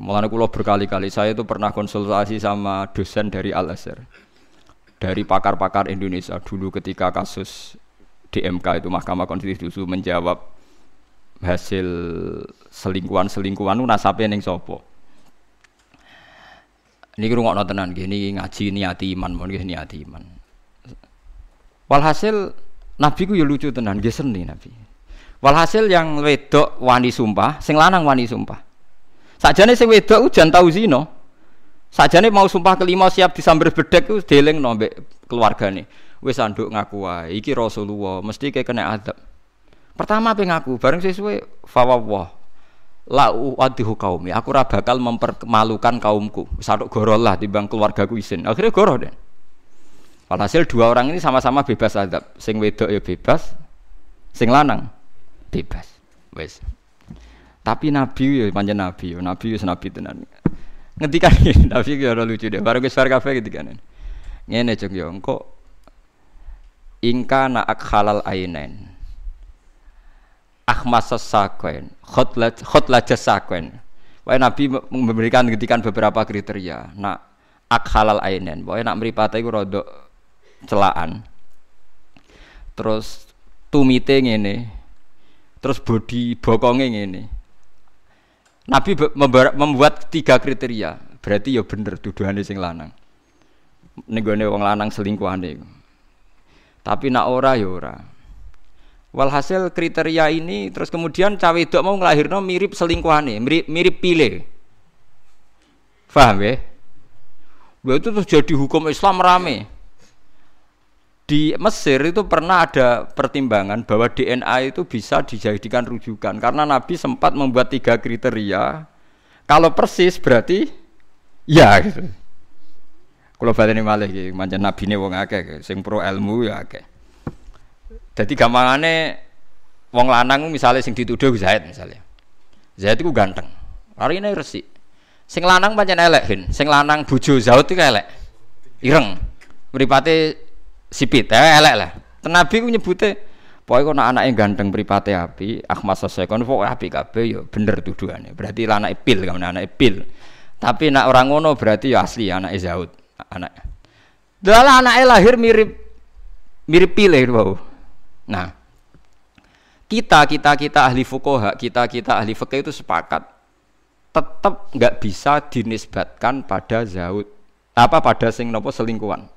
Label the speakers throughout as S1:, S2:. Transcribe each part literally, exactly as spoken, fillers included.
S1: Mulane kula berkali-kali saya itu pernah konsultasi sama dosen dari Al-Azhar. Dari pakar-pakar Indonesia dulu ketika kasus D M K itu Mahkamah Konstitusi menjawab hasil selingkuhan-selingkuhan itu nasabe ning sapa. Niki rungokno tenan nggih niki ngaji niati iman mon nggih niati iman. Walhasil Nabi ku ya lucu tenan nggih seni Nabi. Walhasil yang wedok wani sumpah, sing lanang wani sumpah. Sakjane sing wedok jan tau zina. Sakjane mau sumpah kelima siap disamber bedhek ku delingno mbek keluargane. Wis anduk ngaku wae iki Rasulullah mesti kaya kena adab. Pertama pe ngaku bareng sesuwe fawwah. La uadihu qaumi. Aku ora bakal mempermalukan kaumku. Wis anduk goro lah timbang keluargaku isin. Akhirnya goro den. Walhasil dua orang ini sama-sama bebas adab. Sing wedok ya bebas, sing lanang bebas. Wis. Tapi Nabi ya pancen Nabi, Nabi wis Nabi tenan. Ngendikan Nabi ki ora lucu deh. Bareng wis bar kabeh ngendikan. Ngene jeng yo engko ingka na akhalal ainain. Akhmasas sakwen, khotlat khotlajas sakwen. Wae Nabi memberikan ngendikan beberapa kriteria. Nak akhalal ainain, wae nak mripate iku rada celaan. Terus tumite ngene. Terus body bokonge ngene. Nabi membuat tiga kriteria, berarti ya bener tuduhane sing lanang. Ning gone wong lanang selingkuhane. Tapi nak ora ya ora. Walhasil kriteria ini terus kemudian cawe wedok mau nglahirno mirip selingkuhane, mirip mirip pile. Paham ya? Lha itu terus jadi hukum Islam rame. Di Mesir itu pernah ada pertimbangan bahwa D N A itu bisa dijadikan rujukan karena Nabi sempat membuat tiga kriteria. Kalau persis berarti ya gitu. Kalau baleni malih iki pancen nabine wong akeh sing pro ilmu ya akeh. Dadi gampangane wong lanang misalnya sing dituduh Zaid misalnya. Zaid iku ganteng. Arine resik. Sing lanang pancen elek, Hin. Sing lanang bojo Zaid iku elek. Ireng. Mripate sipit, eh, elek lah. Nabi ku nyebute, pokoke kok anake ganteng mripate apik, Ahmad Sasekon pokoke apik kabeh ya bener tuduhane. Berarti anake pil, kan anake pil. Tapi nek ora ngono berarti ya asli anake Zaud, anak. Dalah anake lahir mirip mirip pil wae. Nah, kita kita kita ahli fuqaha, kita kita ahli fikih itu sepakat tetap enggak bisa dinisbatkan pada Zaud. Apa pada sing napa selingkuhan.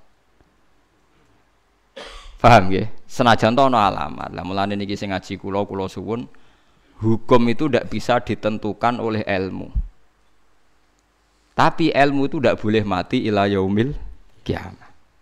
S1: Paham nggih? Senajan to ana alamat. Lah mulane niki sing ngaji kula kula suwun, hukum itu ndak bisa ditentukan oleh ilmu. Tapi ilmu itu ndak boleh mati ila yaumil kiamah.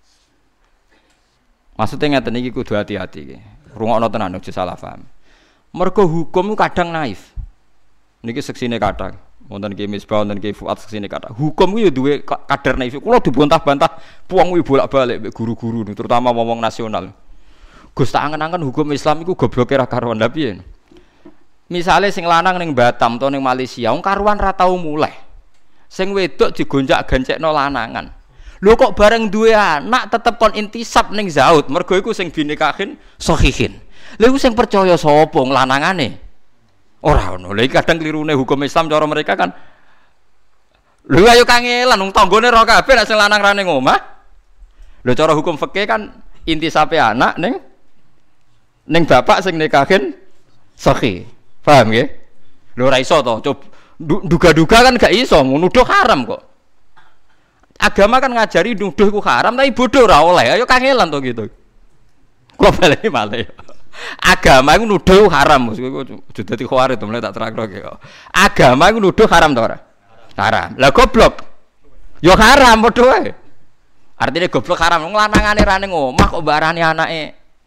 S1: Maksudnya ngeten iki kudu hati-hati nggih. Rungokno tenan aja salah paham. Mergo hukum itu kadang naif. Niki seksine kathah. Wonten Ki Misbah wonten Ki Fuad seksine kathah. Hukum ku ya duwe kadar naif. Kula dibantah-bantah puang kuwi bolak-balik mbek guru-guru terutama wong nasional. Gus tak angen-angen hukum Islam iku gobloke ra karuan lha piye? Misale sing lanang ning Batam to ning Malaysia, wong karuan ra tau muleh. Sing wedok digonjak-gancekno lanangan. Lho kok bareng duwe anak tetep kon intisab ning Zaud, mergo iku sing binikahin sahihin. Lha iku sing percaya sapa lanangane? Ora ono. Lha iki kadang klirune hukum Islam cara mereka kan. Lho ayo kangelan wong tanggane ora kabeh nek sing lanang ra ning omah. Lho cara hukum fikih kan intisabe anak ning ning bapak sing nikahin sahih. Paham nggih? Lho ora iso to. Duga-duga kan gak iso, nuduh haram kok. Agama kan ngajari nuduh iku haram tapi bodoh ora oleh. Ayo kangelan to gitu. Kok bali malih. Agama iku nuduh haram, iku dadi khawarit to mulai tak terangno kok. Agama iku nuduh haram to ora? Haram. Lah goblok. Ya haram padha wae. Artine goblok haram wong lanangane ra ning omah kok mbarani anake.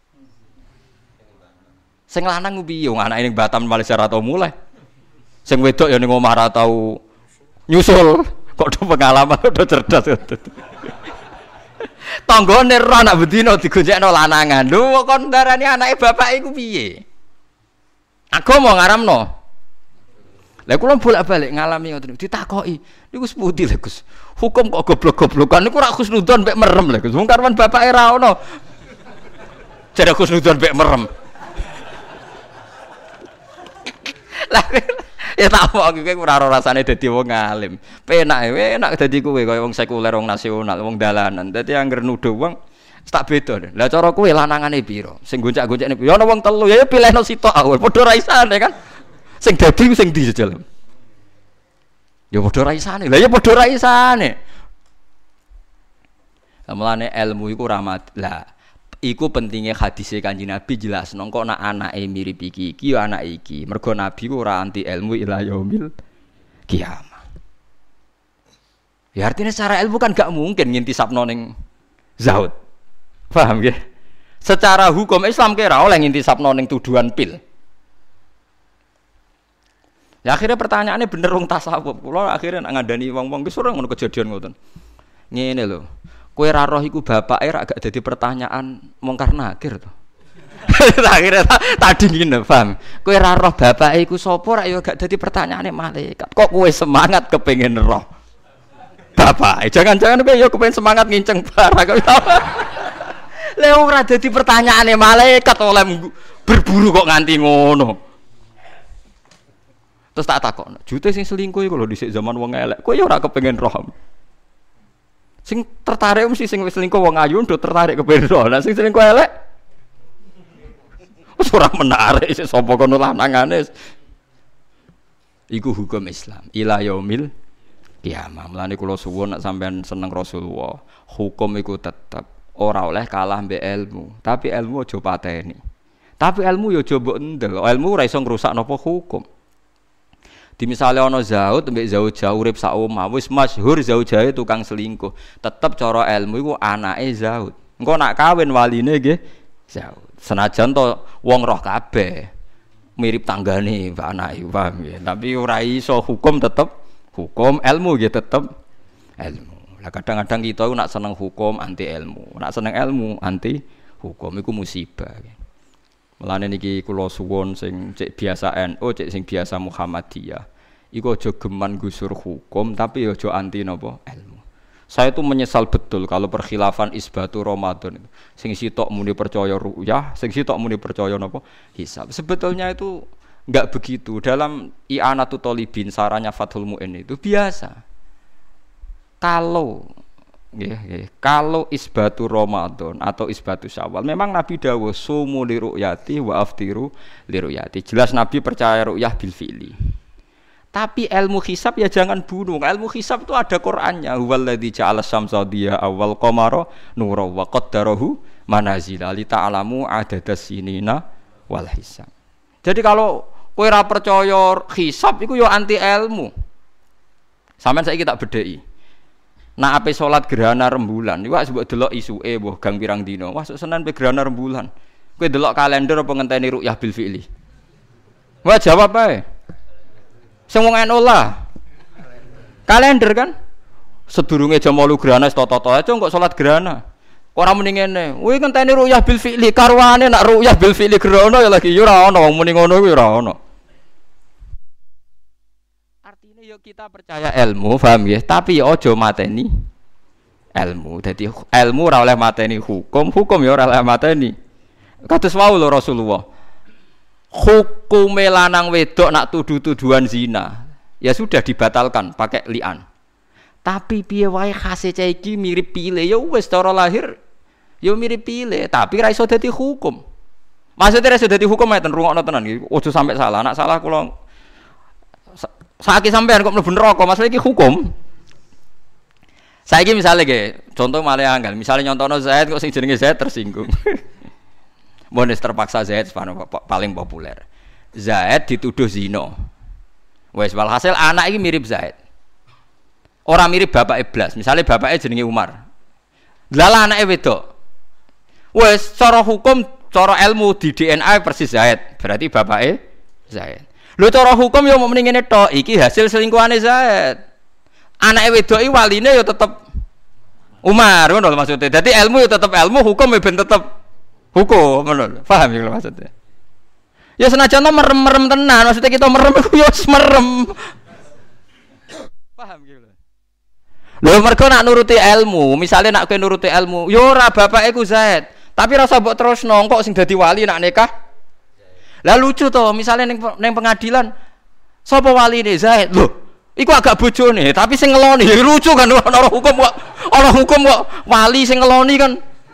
S1: Sing lanang ku piye wong anake ning Batam Malaysia ra tau mulai. Sing wedok ya ning omah ra tau nyusul. Kok do pengalaman do cerdas. Tanggane ora nak bedino digonjekno lanangan. Lho kok ndarani anake bapak iku piye? Agama ngaramno. Lah kula bolak-balik ngalami ngoten ditakoki. Niku seputi lho Gus. Hukum kok goblok-goblokan niku ora khusnudon mek merem lho Gus. Wong karwan bapake ra ono. Jare khusnudon mek merem. Lah Ya tak mau kowe ora ora rasane dadi wong alim. Penak enak dadi kowe kaya wong sekuler, wong nasional, wong dalanan. Dadi anggere nuduh wong tak beda. Lah cara kowe lanangane pira? Sing goncak-goncakne pira? Ya ana wong telu ya pilihno sitok awal. Padha ra isane kan. Sing dadi sing ndi jejal. Ya padha ra isane. Lah ya padha ra isane. Mulane ilmu iku rahmat. Lah iku pentingnya hadise Kanjeng Nabi jelasno kok nak anake mirip iki iki ya anak iki. Mergo Nabi ku ora anti ilmu ila yaumil kiamah. Ya artinya secara ilmu kan gak mungkin ngintisapno ning Zaud. Paham ya? Secara hukum Islam kira oleh ngintisapno ning tuduhan pil. Ya akhirnya pertanyaannya bener wong tasawuf. Kula akhirnya nak ngandani wong-wong wis ora ngono kejadian ngoten. Ngene lho. Kowe ra roh iku bapake ra gak dadi pertanyaan mungkar nakir to. Akhirnya tak dingin paham. Kowe ra roh bapake iku sapa ra ya gak dadi pertanyaane malaikat. Kok kowe semangat kepengin roh bapake? Jangan-jangan kowe ya kepengin semangat nginceng barang. Lha ora dadi pertanyaane malaikat oleh berburu kok nganti ngono. Terus tak takon, jute sing selingkuh iku lho dhisik zaman wong elek. Kowe ya ora kepengin roh. Sing tertarik mesti sing wis selingkuh wong ayu ndo tertarik kepengin roh. Lah sing selingkuh elek wis ora menarik sik sapa kono lanangane. Iku hukum Islam. Ila yaumil kiamah. Mulane kula suwun nek sampean seneng Rasulullah, hukum iku tetep ora oleh kalah mbek ilmu. Tapi ilmu aja pateni. Tapi ilmu ya aja mbok endel. Ilmu ora iso ngrusak napa hukum. Di misalnya ana Zaud mbek Zaujah urip sak omah wis masyhur Zaujah tukang selingkuh, tetep cara ilmu iku anake Zaud. Engko nak kawin waline nggih Zaud. Senajan to wong roh kabeh mirip tanggane mbak anake, paham nggih. Tapi ora iso hukum tetep hukum, ilmu nggih tetep ilmu. Lah kadang-kadang kita iku nak seneng hukum anti ilmu, nak seneng ilmu anti hukum iku musibah. Mulane niki kula suwun sing cek biasa N U, cek sing biasa Muhammadiyah. Iku aja geman gusur hukum tapi aja anti napa ilmu. Saya tuh menyesal betul kalau perkhilafan isbatu Ramadan itu. Sing sitok muni percaya ru'yah, sing sitok muni percaya napa hisab. Sebetulnya itu enggak begitu. Dalam I'anatul Thalibin sarannya Fathul Mu'in itu biasa. Kalau Nggih, nggih. Kalau isbatu Ramadan atau isbatu Syawal, memang Nabi dawuh sumu li ru'yati wa aftiru li ru'yati. Jelas Nabi percaya ru'yah bil fi'li. Tapi ilmu hisab ya jangan bunuh. Ilmu hisab itu ada Qur'annya. Huwallazi ja'ala syamsa diya awal qamara nura wa qaddarahu manazila li ta'lamu adadas sinina wal hisab. Jadi kalau kowe ora percaya hisab iku ya anti ilmu. Sampeyan saiki tak bedheki. Nah ape salat gerhana rembulan, iku sebut delok isuke mbuh gang pirang dina. Wah Senin pe gerhana rembulan. Kowe delok kalender apa ngenteni ru'yah bil fi'li? Wah jawab ae. Sing wong N U lah. Kalender kan? Sedurunge jam wolu gerhana toto-toto aja kok salat gerhana. Ora muni ngene. Kuwi ngenteni ru'yah bil fi'li, karwane nak ru'yah bil fi'li gerhana ya lagi ya ora ono wong muni ngono kuwi ora ono. Yuk kita percaya ilmu, paham ya? Tapi ya aja mateni ilmu. Jadi ilmu ora oleh mateni hukum, hukum ya ora oleh mateni. Kados wau lho Rasulullah. Hukume lanang wedok nak tuduh-tuduhan zina, ya sudah dibatalkan pakai li'an. Tapi piye wae khase cah iki mirip pile, ya wis cara lahir ya mirip pile, tapi ra iso dadi hukum. Maksudnya ra iso dadi hukum enten rungokno tenan iki. Ojo sampai salah, nak salah kula saiki sampean kok mlebu neraka, masalah iki hukum. Saiki misale nggih, contoh malah anggal, misale nyontono Zaid kok sing jenenge Zaid tersinggung. Monis terpaksa Zaid paling populer. Zaid dituduh zina. Wes walhasil anak iki mirip Zaid. Ora mirip bapak iblas, misale bapake jenenge Umar. Lah anake wedok. Wes cara hukum, cara ilmu di D N A persis Zaid, berarti bapake Zaid. Lho cara hukum ya mau mending ngene tok, iki hasil selingkuhane Zaid. Anake wedok iki waline ya tetep Umar, ngono lho maksudnya. Dadi ilmu ya tetep ilmu, hukum ya ben tetep hukum, ngono lho. Paham ya maksudnya. Ya senajan to merem-merem tenan, maksudnya kita merem iku ya merem. Paham gitu lho. Lho mergo nak nuruti ilmu, misale nak kowe nuruti ilmu, ya ora bapake ku Zaid, tapi rasa mbok terusno kok sing dadi wali nak nikah. Lah lucu to, misalnya neng, neng pengadilan Sapa waline Zaid? Lho, iku agak bojone, tapi sing ngeloni ya lucu kan ana hukum kok. Ana hukum kok wali sing ngeloni kan.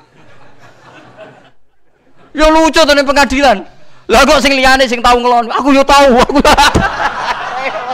S1: Ya lucu to ning pengadilan. Lah kok sing liyane sing tau ngeloni, aku yo tau. Aku